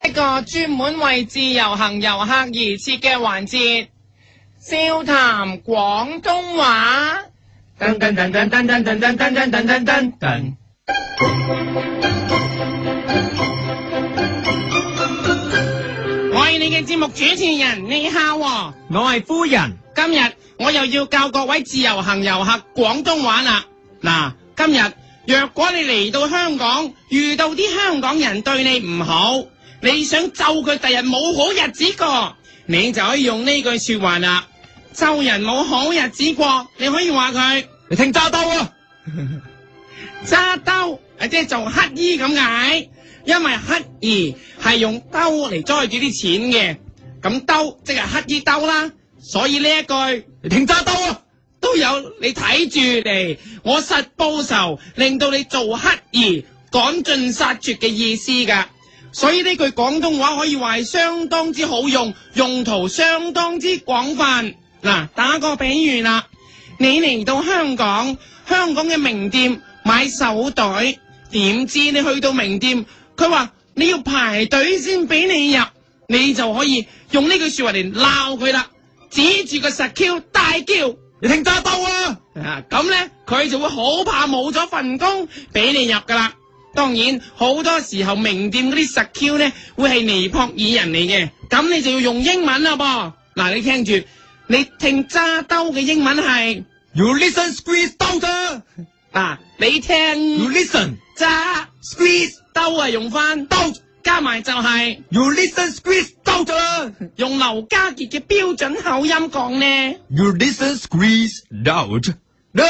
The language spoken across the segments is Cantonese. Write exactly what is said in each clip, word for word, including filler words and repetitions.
一個專門為自由行遊客而設嘅環節，笑談廣東話。噔噔噔噔噔噔噔噔噔噔噔噔噔。我係你嘅節目主持人，你好喎。 我係夫人。 今日我又要教各位自由行遊客廣東話啦。嗱，今日若果你嚟到香港，遇到啲香港人對你唔好，你想咒佢第日冇好日子過，你就可以用呢句說話啦。咒人冇好日子過，你可以話佢， 你聽揸兜啊， 揸兜即係做乞衣咁解，因為乞兒係用兜嚟載住啲錢嘅，咁兜即係乞衣兜啦，所以呢一句你聽揸兜啊， 都有你睇住嚟，我實報仇，令到你做乞兒趕盡殺絕嘅意思噶。所以呢句廣東話可以話係相當之好用，用途相當之廣泛。嗱，打個比喻啦，你嚟到香港，香港嘅名店買手袋，點知你去到名店，佢話你要排隊先俾你入，你就可以用呢句說話嚟鬧佢啦，指住個實 Q 大叫， 你聽揸兜啊！ 啊，咁咧佢就會好怕冇咗份工俾你入噶啦。當然好多時候名店嗰啲實 Q 咧會係尼泊爾人嚟嘅，咁你就要用英文啦噃。嗱，你聽住，你聽揸兜嘅英文係 You listen squeeze 兜咋？ 啊，你聽 You listen 揸 squeeze 兜啊，用翻兜加埋就係 You listen squeeze 兜咋？ 用劉家傑嘅標準口音講呢 You listen squeeze 兜咋？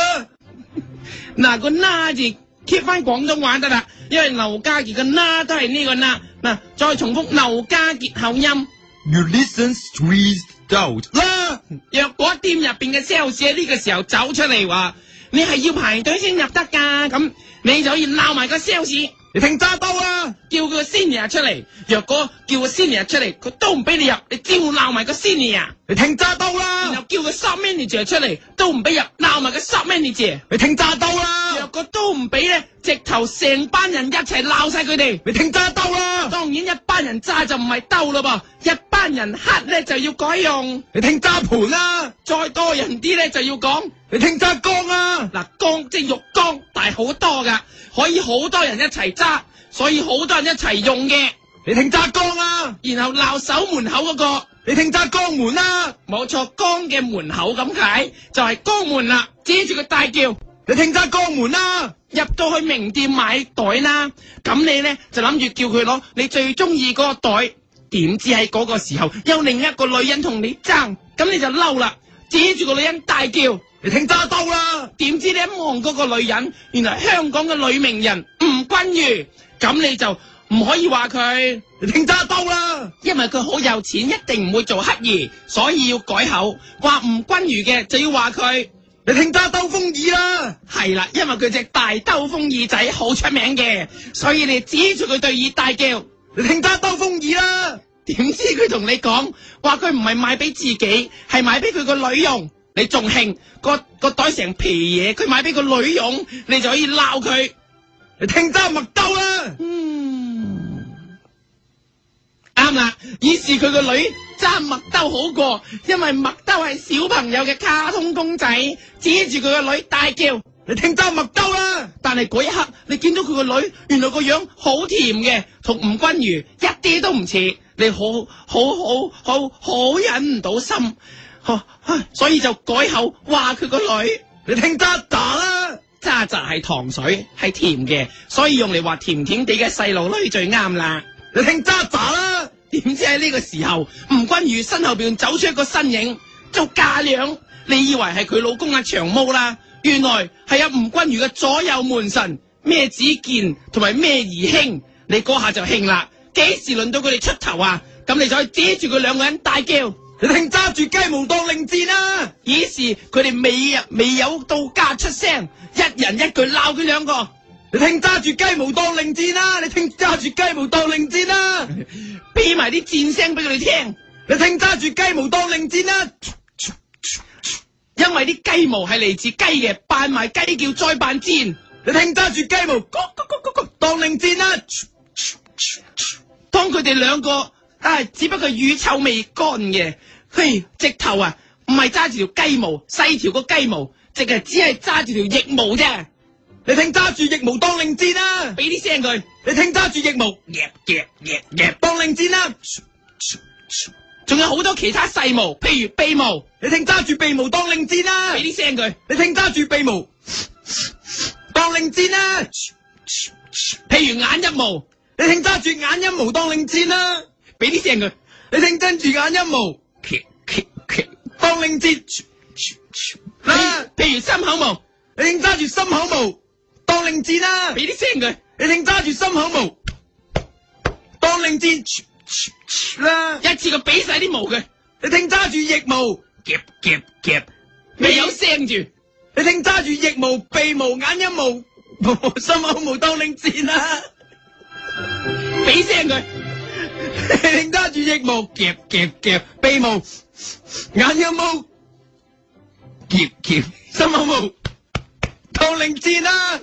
嗱，個啦字 keep 翻廣東話得啦，因為劉家傑嘅啦都係呢個啦。嗱，再重複劉家傑口音 You listen squeeze 兜啦。 若果店入邊嘅 sales 喺呢個時候走出嚟話你係要排隊先入得噶，咁你就可以鬧埋個 sales， 你聽揸兜啊， 叫佢個 senior 出嚟。若果叫個 senior 出嚟，佢都唔俾你入，你照鬧埋個 senior， 你聽揸兜然啦， 後叫個 sub manager 出嚟，都唔俾入，鬧埋個 sub manager。 你聽揸兜啦， 若果都唔俾咧，直頭成班人一齊鬧晒佢哋。 你聽揸兜啦， 當然一班人揸就唔係兜咯噃，一班人黑咧就要改用， 你聽揸盤啦， 再多人啲咧就要講。 你聽揸缸啊， 嗱，缸即係浴缸，大好多噶，可以好多人一齊揸，所以好多人一齊用嘅。 你聽揸缸啊， 然後鬧守門口嗰個， 你聽揸江門啦， 冇錯，缸嘅門口咁解，就係江門啦，指住佢大叫， 你聽揸江門啦， 入到去名店買袋啦，咁你咧就諗住叫佢攞你最中意嗰個袋，點知喺嗰個時候有另一個女人同你爭，咁你就嬲啦，指住個女人大叫， 你聽揸兜啦， 點知你一望嗰個女人，原來香港嘅女名人吳君如，咁你就唔可以話佢， 你聽揸兜啦， 因為佢好有錢，一定唔會做乞兒，所以要改口，話吳君如嘅就要話佢， 你聽揸兜風耳啦， 係啦，因為佢隻大兜風耳仔好出名嘅，所以你指住佢對耳大叫， 你聽揸兜風耳啦， 點知佢同你講話佢唔係買俾自己，係買俾佢個女用，你仲興個個袋成皮嘢，佢買俾個女用，你就可以鬧佢， 你聽揸麥兜啦， 嗯，啱啦，於是佢個女揸麥兜好過，因為麥兜係小朋友嘅卡通公仔，指住佢個女大叫， 你聽揸麥兜啦， 但係嗰一刻你見到佢個女原來個樣好甜嘅，同吳君如一啲都唔似，你好好好好好忍唔到心，所以就改口話佢個女， 你聽揸喳啦， 渣渣係糖水，係甜嘅，所以用嚟話甜甜地嘅細路女最啱啦。 你聽揸喳啦， 點知喺呢個時候，吳君如身後邊走出一個身影，做嫁娘，你以為係佢老公阿長毛啦，原來係阿吳君如嘅左右門神咩子健同埋咩兒興，你嗰下就興啦，幾時輪到佢哋出頭啊？咁你就可以指住佢兩個人大叫， 你聽揸住雞毛當令箭啦， 於是佢哋未未有到家出聲，一人一句鬧佢兩個， 你聽揸住雞毛當令箭啦，你聽揸住雞毛當令箭啦， 俾埋啲箭聲俾佢哋聽， 你聽揸住雞毛當令箭啦， 因為啲雞毛係嚟自雞嘅，扮埋雞叫再扮箭， 你聽揸住雞毛，咕咕咕咕咕當令箭啦， 當佢哋兩個啊，只不過乳臭未乾嘅，嘿，直頭啊，唔係揸住條雞毛，細條個雞毛，直係只係揸住條翼毛啫。 你聽揸住翼毛當令箭啦， 俾啲聲佢。 你聽揸住翼毛夾夾夾夾當令箭啦， 仲有好多其他細毛，譬如鼻毛， 你聽揸住鼻毛當令箭啦， 俾啲聲佢。 你聽揸住鼻毛當令箭啦， 譬如眼一毛， 你聽揸住眼一毛當令箭啦， 俾啲聲佢。 你聽跟住眼一毛當令箭啦， 譬如心口毛， 你聽揸住心口毛當令箭啦， 俾啲聲佢。 你聽揸住心口毛當令箭啦， 一次過俾晒啲毛佢。 你聽揸住翼毛夾夾夾未有聲住。 你聽揸住翼毛鼻毛眼一毛心口毛當令箭啦， 俾聲佢。 你聽揸住翼毛夾夾夾鼻毛眼一毛夾夾心口毛當令箭啦，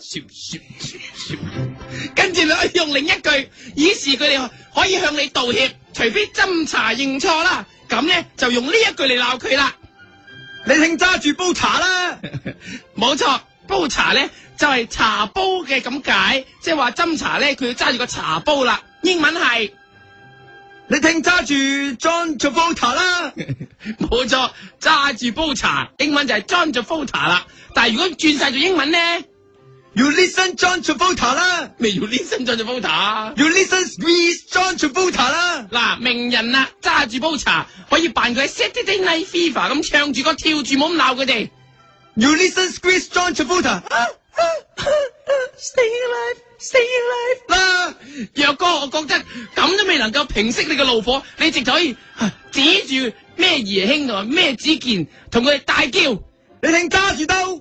跟住你可以用另一句，以示佢哋可以向你道歉，除非斟茶認錯啦。咁咧就用呢一句嚟鬧佢啦。 你聽揸住煲茶啦， 冇錯，煲茶咧就係、是、茶煲嘅咁解，即係話斟茶咧佢要揸住個茶煲啦。英文係你聽揸住 John Travolta 啦， 冇錯，揸住煲茶，英文就係 John Travolta 啦。但係如果轉晒做英文咧 You listen John Travolta 啦， 咩要 listen John Travolta You listen squeeze John Travolta 啦。 嗱，名人啊，揸住煲茶可以扮佢喺 Saturday Night Fever 咁唱住歌跳住，冇咁鬧佢哋。 You listen squeeze John Travolta Stay alive, stay alive 啦。若哥，我覺得咁都未能夠平息你嘅怒火，你直頭可以、啊、指住咩爺兄同埋咩子健，同佢哋大叫。 你聽揸住刀，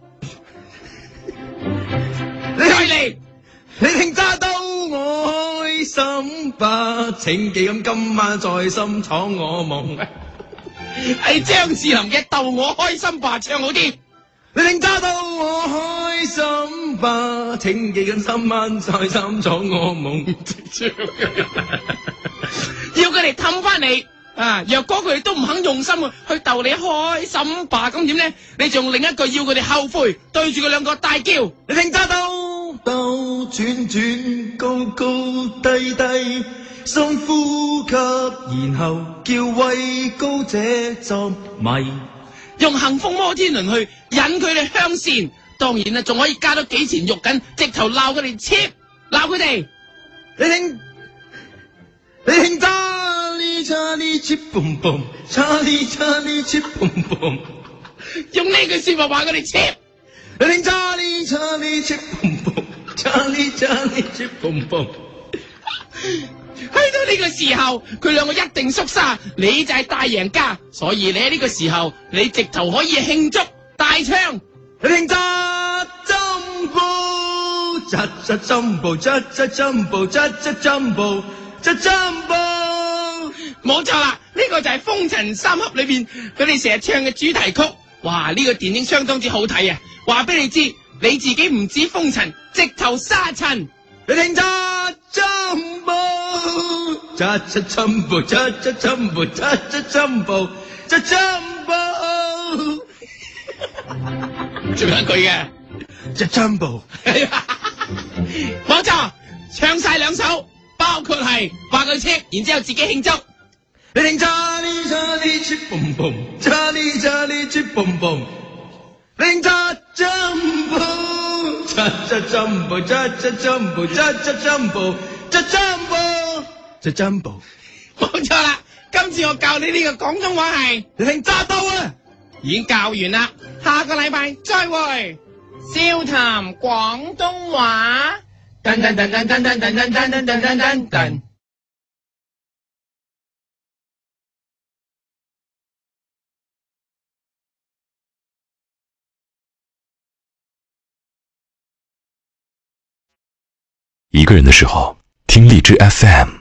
你嚟嚟， 你聽揸刀，我開心吧，請記咁今晚在心闖我夢。 係張智霖嘅《逗我開心吧》唱好啲。 你聽揸刀，我開心吧，請記緊今晚在心闖我夢。 要佢哋氹翻你。啊！若果佢哋都唔肯用心去逗你開心吧，咁點咧？你仲另一句要佢哋後悔，對住佢兩個大叫。 你聽揸兜兜轉轉高高低低，深呼吸，然後叫畏高者作迷， 用幸福摩天輪去引佢哋向善。當然啦，仲可以加多幾錢肉緊，直頭鬧佢哋 cheap，鬧佢哋。 你聽，你聽揸。Charlie chip boom boom Charlie Charlie chip boom boom 用呢句說話話佢哋 cheap。 你聽 Charlie Charlie chip boom boom Charlie Charlie chip boom boom 去到呢個時候，佢兩個一定縮沙，你就係大贏家。所以你喺呢個時候，你直頭可以慶祝大唱。 你聽揸 Jumbo 揸揸 Jumbo 揸揸 Jumbo 揸揸 Jumbo 揸 Jumbo。 冇錯啦，呢、這個就係《風塵三俠》裏邊佢哋成日唱嘅主題曲。哇，呢、這個電影相當之好睇啊！話俾你知，你自己唔止風塵，直頭沙塵。 你聽揸 Jumbo 揸揸 Jumbo 揸揸 Jumbo 揸揸 Jumbo 揸 Jumbo， 仲有一句嘅揸 Jumbo， 冇錯，唱晒兩首，包括係話佢車，然之後自己慶祝。 你聽 Charlie Charlie chip boom boom Charlie Charlie chip boom boom， 你聽揸 Jumbo 揸揸 Jumbo 揸揸 Jumbo 揸揸 Jumbo 揸 Jumbo 揸 Jumbo， 冇錯啦，今次我教你呢個廣東話係， 你聽揸刀啊， 已經教完啦，下個禮拜再會，笑談廣東話。噔噔噔噔噔噔噔噔噔噔噔噔噔。 一个人的时候，听荔枝 F M。